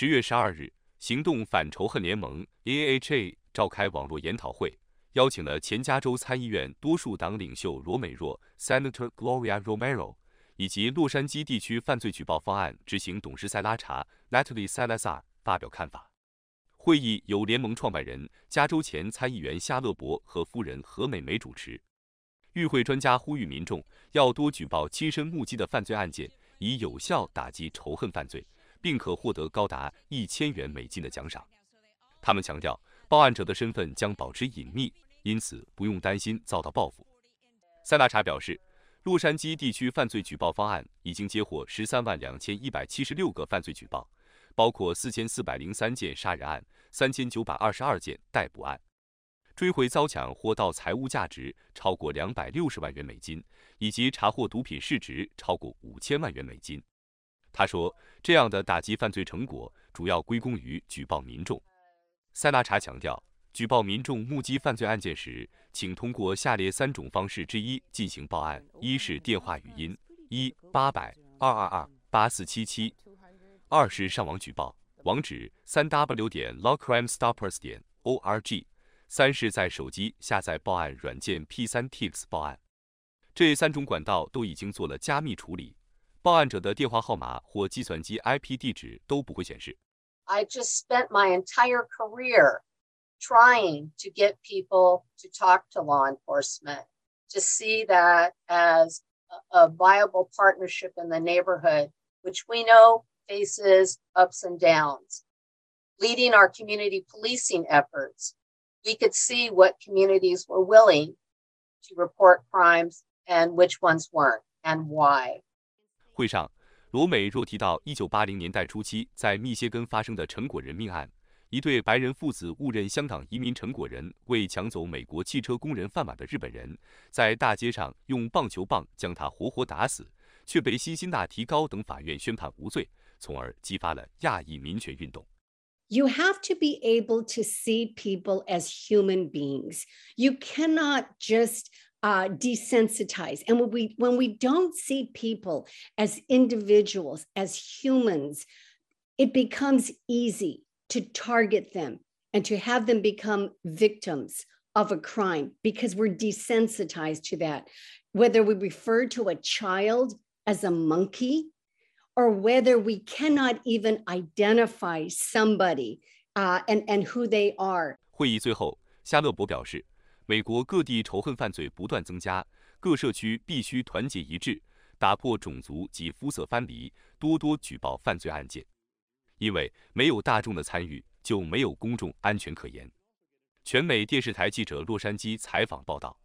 10月12日，行动反仇恨联盟 （AHA） 召开网络研讨会，邀请了前加州参议院多数党领袖罗美若 （Senator Gloria Romero） 以及洛杉矶地区犯罪举报方案执行董事塞拉查 （Natalie Salazar） 发表看法。会议由联盟创办人、加州前参议员夏勒伯和夫人何美梅主持。与会专家呼吁民众要多举报亲身目击的犯罪案件，以有效打击仇恨犯罪，并可获得高达$1000的奖赏。他们强调，报案者的身份将保持隐秘，因此不用担心遭到报复。塞拉查表示，洛杉矶地区犯罪举报方案已经接获132176个犯罪举报，包括4403件杀人案、3922件逮捕案。追回遭抢或盗财物价值超过$260万，以及查获毒品市值超过$5000万。他说，这样的打击犯罪成果主要归功于举报民众。塞拉查强调，举报民众目击犯罪案件时，请通过下列3种方式之一进行报案：一是电话语音，1-800-222-8477；二是上网举报，网址3w.lawcrimestoppers.org；三是在手机下载报案软件 P3 Tips 报案。这3种管道都已经做了加密处理，报案者的电话号码或计算机 IP 地址都不会显示。 I just spent my entire career trying to get people to talk to law enforcement, to see that as a viable partnership in the neighborhood, which we know faces ups and downs. Leading our community policing efforts, we could see what communities were willing to report crimes and which ones weren't, and why. 会上，罗美若提到1980年代初期在密歇根发生的陈果仁命案，一对白人父子误认香港移民陈果仁为抢走美国汽车工人饭碗的日本人，在大街上用棒球棒将他活活打死，却被辛辛那提高等法院宣判无罪，从而激发了亚裔民权运动。 You have to be able to see people as human beings. You cannot just desensitize. And when we don't see people as individuals, as humans, it becomes easy to target them and to have them become victims of a crime because we're desensitized to that. Whether we refer to a child as a monkey, or whether we cannot even identify somebody and who they are. 会议最后，夏勒伯表示，美国各地仇恨犯罪不断增加，各社区必须团结一致，打破种族及肤色藩篱，多多举报犯罪案件。因为没有大众的参与，就没有公众安全可言。全美电视台记者洛杉矶采访报道。